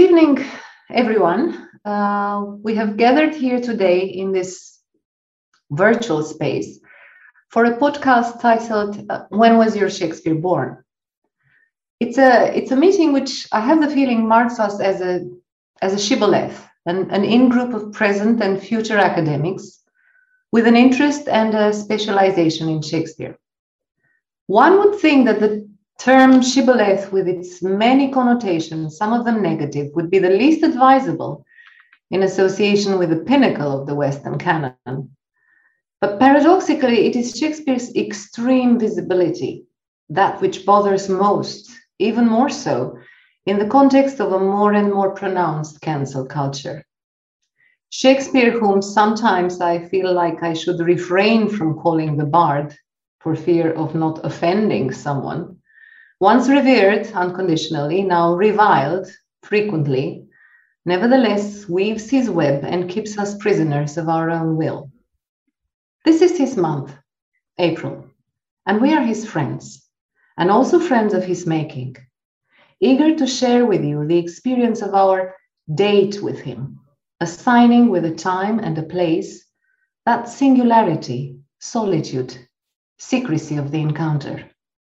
evening, everyone. We have gathered here today in this virtual space for a podcast titled When Was Your Shakespeare Born? It's a meeting which I have the feeling marks us as a shibboleth, an in-group of present and future academics with an interest and a specialization in Shakespeare. One would think that the term shibboleth, with its many connotations, some of them negative, would be the least advisable in association with the pinnacle of the Western canon. But paradoxically, it is Shakespeare's extreme visibility, that which bothers most, even more so, in the context of a more and more pronounced cancel culture. Shakespeare, whom sometimes I feel like I should refrain from calling the bard for fear of not offending someone, once revered unconditionally, now reviled frequently, nevertheless weaves his web and keeps us prisoners of our own will. This is his month, April, and we are his friends, and also friends of his making, eager to share with you the experience of our date with him, assigning with a time and a place that singularity, solitude, secrecy of the encounter.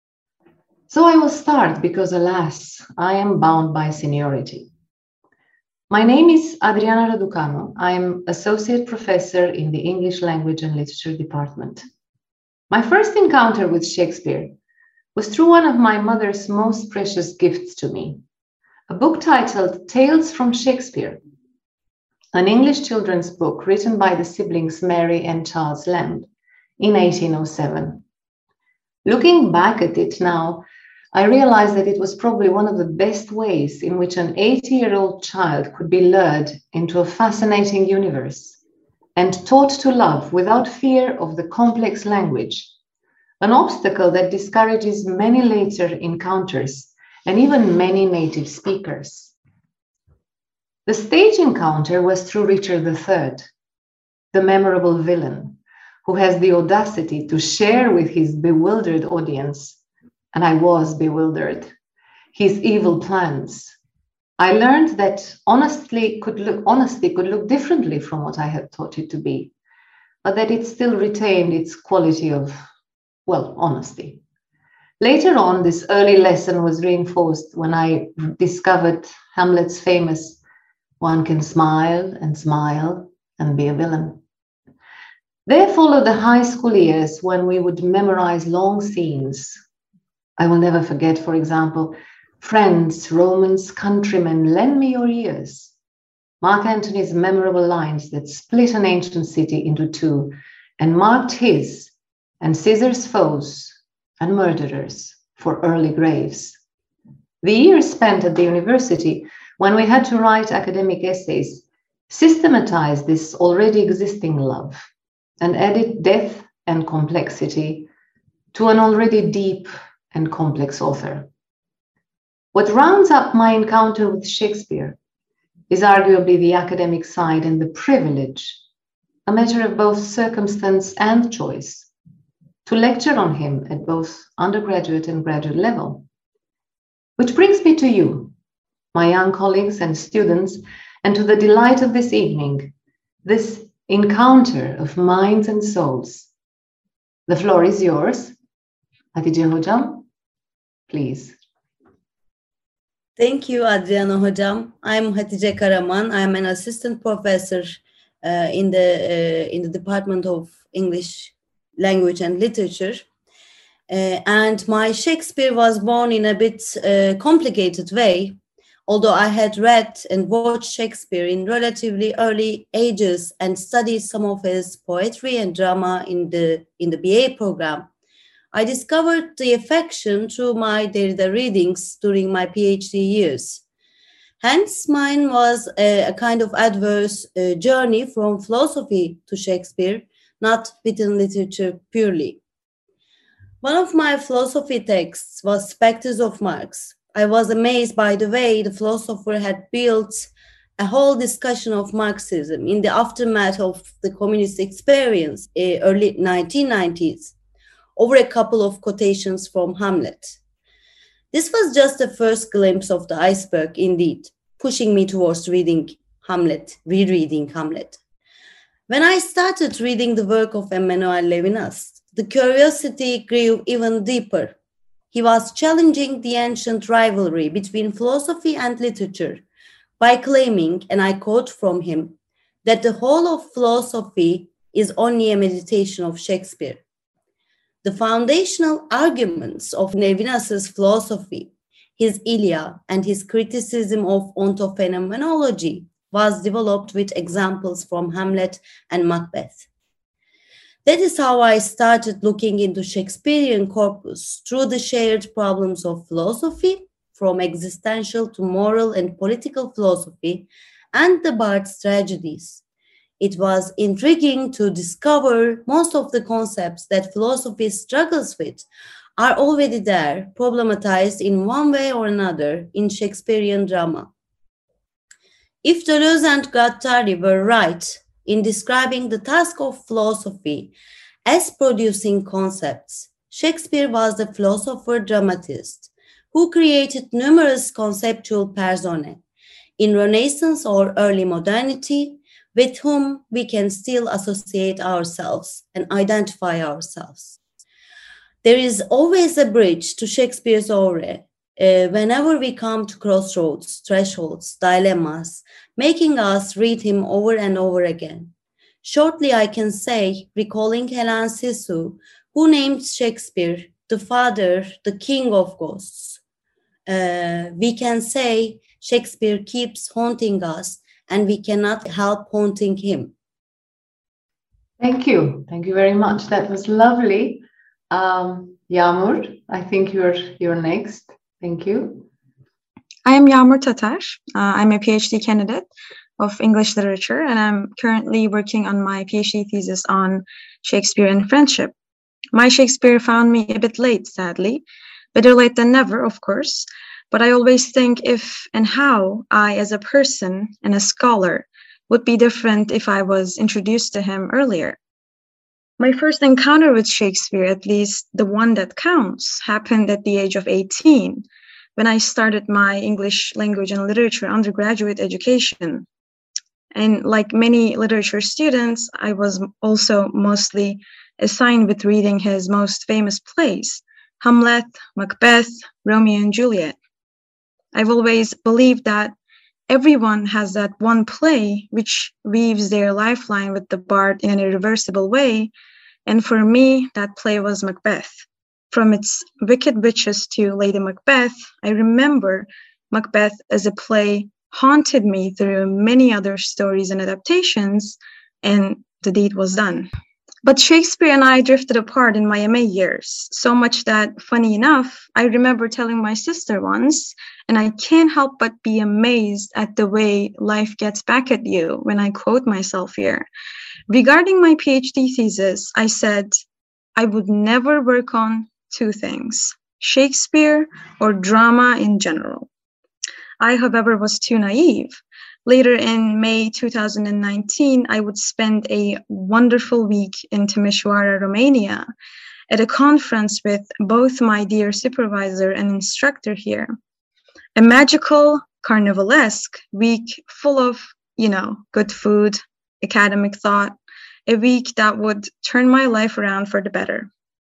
So I will start because, alas, I am bound by seniority. My name is Adriana Raducanu. I am Associate Professor in the English Language and Literature Department. My first encounter with Shakespeare was through one of my mother's most precious gifts to me, a book titled Tales from Shakespeare, an English children's book written by the siblings Mary and Charles Lamb in 1807. Looking back at it now, I realized that it was probably one of the best ways in which an 80-year-old child could be lured into a fascinating universe and taught to love without fear of the complex language, an obstacle that discourages many later encounters and even many native speakers. The stage encounter was through Richard III, the memorable villain, who has the audacity to share with his bewildered audience, and I was bewildered, his evil plans. I learned that honesty could look differently from what I had taught it to be, but that it still retained its quality of, honesty. Later on, this early lesson was reinforced when I discovered Hamlet's famous, "One can smile and be a villain." There followed the high school years when we would memorize long scenes. I will never forget, for example, "Friends, Romans, countrymen, lend me your ears." Mark Antony's memorable lines that split an ancient city into two and marked his and Caesar's foes and murderers for early graves. The years spent at the university when we had to write academic essays systematized this already existing love and added depth and complexity to an already deep and complex author. What rounds up my encounter with Shakespeare is arguably the academic side and the privilege, a matter of both circumstance and choice, to lecture on him at both undergraduate and graduate level. Which brings me to you, my young colleagues and students, and to the delight of this evening, this encounter of minds and souls. The floor is yours. Hatice Hocam, please. Thank you, Adriana Hocam. I'm Hatice Karaman. I'm an assistant professor in the Department of English Language and Literature. And my Shakespeare was born in a bit complicated way. Although I had read and watched Shakespeare in relatively early ages and studied some of his poetry and drama in the BA program, I discovered the affection through my Derrida readings during my PhD years. Hence, mine was a kind of adverse journey from philosophy to Shakespeare, not written literature purely. One of my philosophy texts was Spectres of Marx. I was amazed by the way the philosopher had built a whole discussion of Marxism in the aftermath of the communist experience, early 1990s, over a couple of quotations from Hamlet. This was just the first glimpse of the iceberg, indeed. pushing me towards rereading Hamlet. When I started reading the work of Emmanuel Levinas, the curiosity grew even deeper. He was challenging the ancient rivalry between philosophy and literature by claiming, and I quote from him, that the whole of philosophy is only a meditation of Shakespeare. The foundational arguments of Levinas's philosophy, his Ilia, and his criticism of ontophenomenology was developed with examples from Hamlet and Macbeth. That is how I started looking into Shakespearean corpus through the shared problems of philosophy, from existential to moral and political philosophy, and the Bard's tragedies. It was intriguing to discover most of the concepts that philosophy struggles with are already there, problematized in one way or another in Shakespearean drama. If Deleuze and Guattari were right in describing the task of philosophy as producing concepts, Shakespeare was the philosopher-dramatist who created numerous conceptual personae in Renaissance or early modernity, with whom we can still associate ourselves and identify ourselves. There is always a bridge to Shakespeare's aura whenever we come to crossroads, thresholds, dilemmas, making us read him over and over again. Shortly, I can say, recalling Helen Sissou, who named Shakespeare the father, the king of ghosts. We can say Shakespeare keeps haunting us and we cannot help haunting him. Thank you. Thank you very much. That was lovely. Yağmur, I think you're next. Thank you. I am Yağmur Tatar. I'm a PhD candidate of English literature, and I'm currently working on my PhD thesis on Shakespeare and friendship. My Shakespeare found me a bit late, sadly. Better late than never, of course. But I always think if and how I, as a person and a scholar, would be different if I was introduced to him earlier. My first encounter with Shakespeare, at least the one that counts, happened at the age of 18, when I started my English language and literature undergraduate education. And like many literature students, I was also mostly assigned with reading his most famous plays, Hamlet, Macbeth, Romeo and Juliet. I've always believed that everyone has that one play which weaves their lifeline with the bard in an irreversible way, and for me, that play was Macbeth. From its wicked witches to Lady Macbeth, I remember Macbeth as a play haunted me through many other stories and adaptations, and the deed was done. But Shakespeare and I drifted apart in my MA years, so much that, funny enough, I remember telling my sister once, and I can't help but be amazed at the way life gets back at you when I quote myself here. Regarding my PhD thesis, I said, I would never work on two things, Shakespeare or drama in general. I, however, was too naive. Later in May 2019, I would spend a wonderful week in Timișoara, Romania, at a conference with both my dear supervisor and instructor here. A magical, carnivalesque week full of, good food, academic thought, a week that would turn my life around for the better.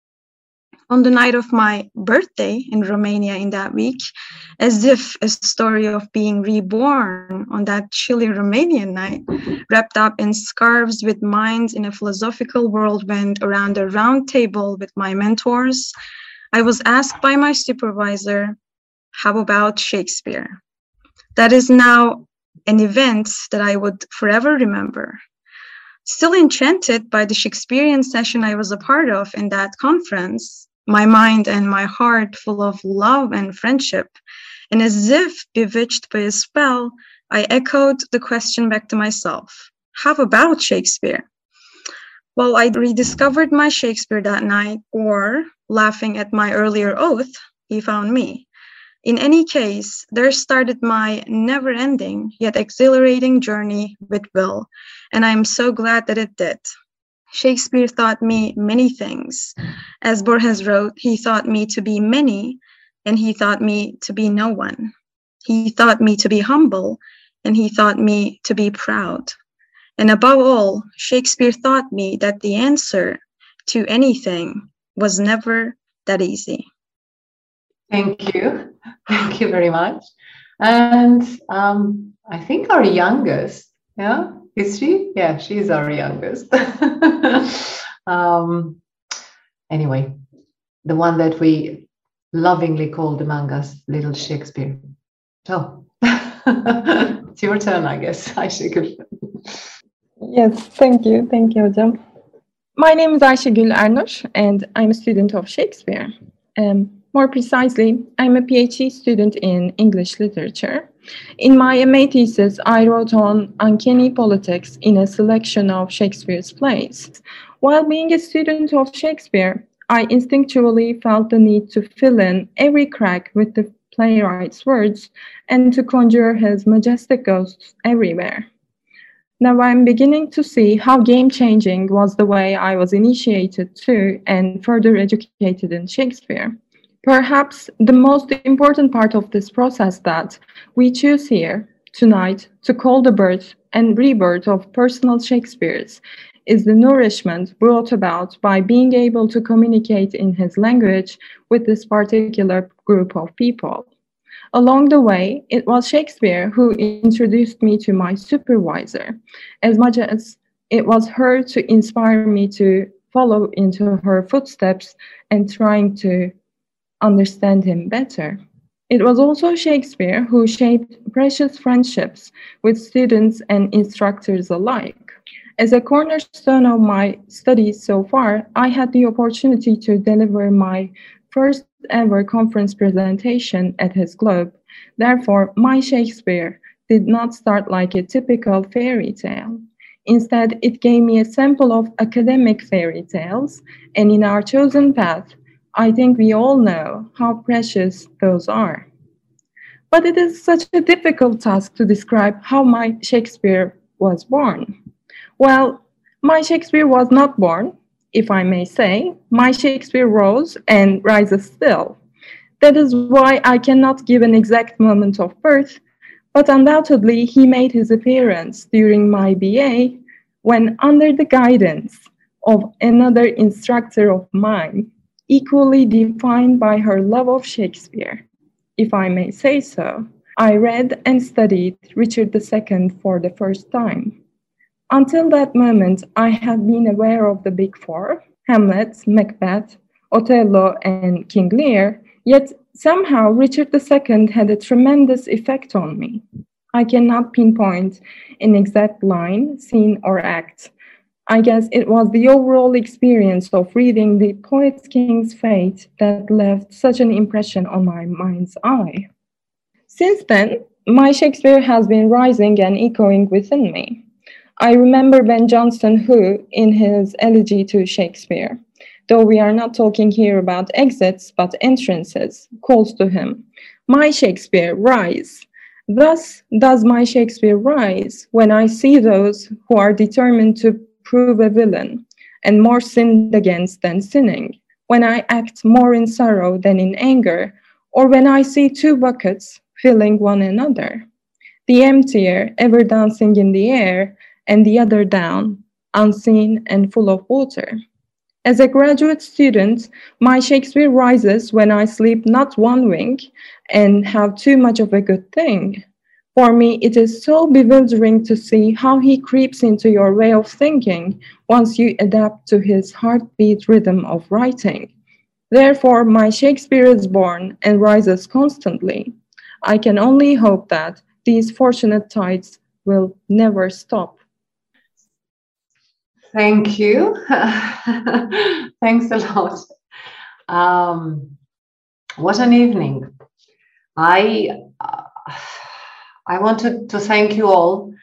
On the night of my birthday in Romania in that week, as if a story of being reborn on that chilly Romanian night, wrapped up in scarves with minds in a philosophical whirlwind around a round table with my mentors, I was asked by my supervisor, how about Shakespeare? That is now an event that I would forever remember. Still enchanted by the Shakespearean session I was a part of in that conference, my mind and my heart full of love and friendship, and as if bewitched by a spell, I echoed the question back to myself, how about Shakespeare? Well, I rediscovered my Shakespeare that night, or, laughing at my earlier oath, he found me. In any case, there started my never-ending yet exhilarating journey with Will, and I am so glad that it did. Shakespeare taught me many things. As Borges wrote, he taught me to be many, and he taught me to be no one. He taught me to be humble, and he taught me to be proud. And above all, Shakespeare taught me that the answer to anything was never that easy. Thank you. Thank you very much. And I think our youngest, yeah, is she? Yeah, she's our youngest. Anyway, the one that we lovingly called among us Little Shakespeare. So it's your turn, I guess, Ayşegül. Yes, thank you. Thank you, hocam. My name is Ayşegül Ernur, and I'm a student of Shakespeare. More precisely, I'm a PhD student in English literature. In my MA thesis, I wrote on uncanny politics in a selection of Shakespeare's plays. While being a student of Shakespeare, I instinctually felt the need to fill in every crack with the playwright's words and to conjure his majestic ghosts everywhere. Now I'm beginning to see how game-changing was the way I was initiated to and further educated in Shakespeare. Perhaps the most important part of this process that we choose here tonight to call the birth and rebirth of personal Shakespeare's is the nourishment brought about by being able to communicate in his language with this particular group of people. Along the way, it was Shakespeare who introduced me to my supervisor, as much as it was her to inspire me to follow into her footsteps and trying to understand him better. It was also Shakespeare who shaped precious friendships with students and instructors alike. As a cornerstone of my studies so far, I had the opportunity to deliver my first ever conference presentation at his club. Therefore, my Shakespeare did not start like a typical fairy tale. Instead, it gave me a sample of academic fairy tales, and in our chosen path, I think we all know how precious those are. But it is such a difficult task to describe how my Shakespeare was born. Well, my Shakespeare was not born, if I may say. My Shakespeare rose and rises still. That is why I cannot give an exact moment of birth, but undoubtedly he made his appearance during my BA when, under the guidance of another instructor of mine, equally defined by her love of Shakespeare, if I may say so, I read and studied Richard II for the first time. Until that moment, I had been aware of the Big Four, Hamlet, Macbeth, Othello, and King Lear, yet somehow Richard II had a tremendous effect on me. I cannot pinpoint an exact line, scene, or act. I guess it was the overall experience of reading The Poet King's Fate that left such an impression on my mind's eye. Since then, my Shakespeare has been rising and echoing within me. I remember Ben Jonson who, in his elegy to Shakespeare, though we are not talking here about exits but entrances, calls to him, "My Shakespeare, rise." Thus does my Shakespeare rise when I see those who are determined to prove a villain, and more sinned against than sinning, when I act more in sorrow than in anger, or when I see two buckets filling one another, the emptier ever dancing in the air, and the other down, unseen and full of water. As a graduate student, my Shakespeare rises when I sleep not one wink and have too much of a good thing. For me, it is so bewildering to see how he creeps into your way of thinking once you adapt to his heartbeat rhythm of writing. Therefore, my Shakespeare is born and rises constantly. I can only hope that these fortunate tides will never stop. Thank you. Thanks a lot. What an evening. I wanted to thank you all,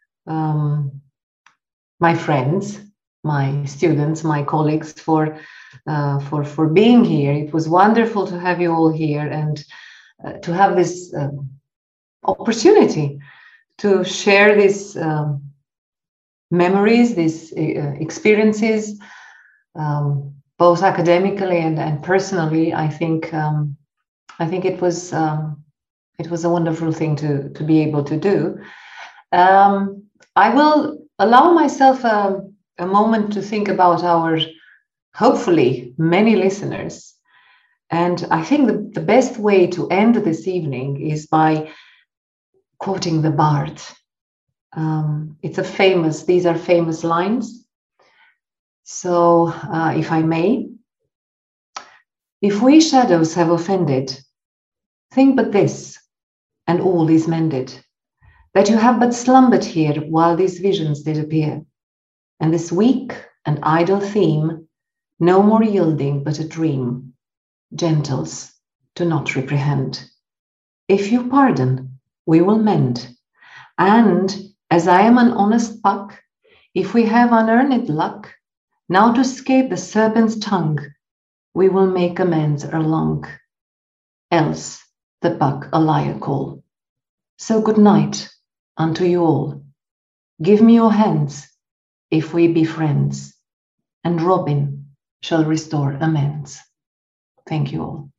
my friends, my students, my colleagues, for being here. It was wonderful to have you all here and to have this opportunity to share these memories, these experiences, both academically and personally. I think it was It was a wonderful thing to be able to do. I will allow myself a moment to think about our, hopefully, many listeners. And I think the best way to end this evening is by quoting the Bard. These are famous lines. So, if I may, if we shadows have offended, think but this, and all is mended, that you have but slumbered here while these visions did appear, and this weak and idle theme, no more yielding but a dream, gentles, do not reprehend. If you pardon, we will mend, and as I am an honest puck, if we have unearned luck, now to scape the serpent's tongue, we will make amends erelong, else the buck a liar call. So good night unto you all. Give me your hands, if we be friends, and Robin shall restore amends. Thank you all.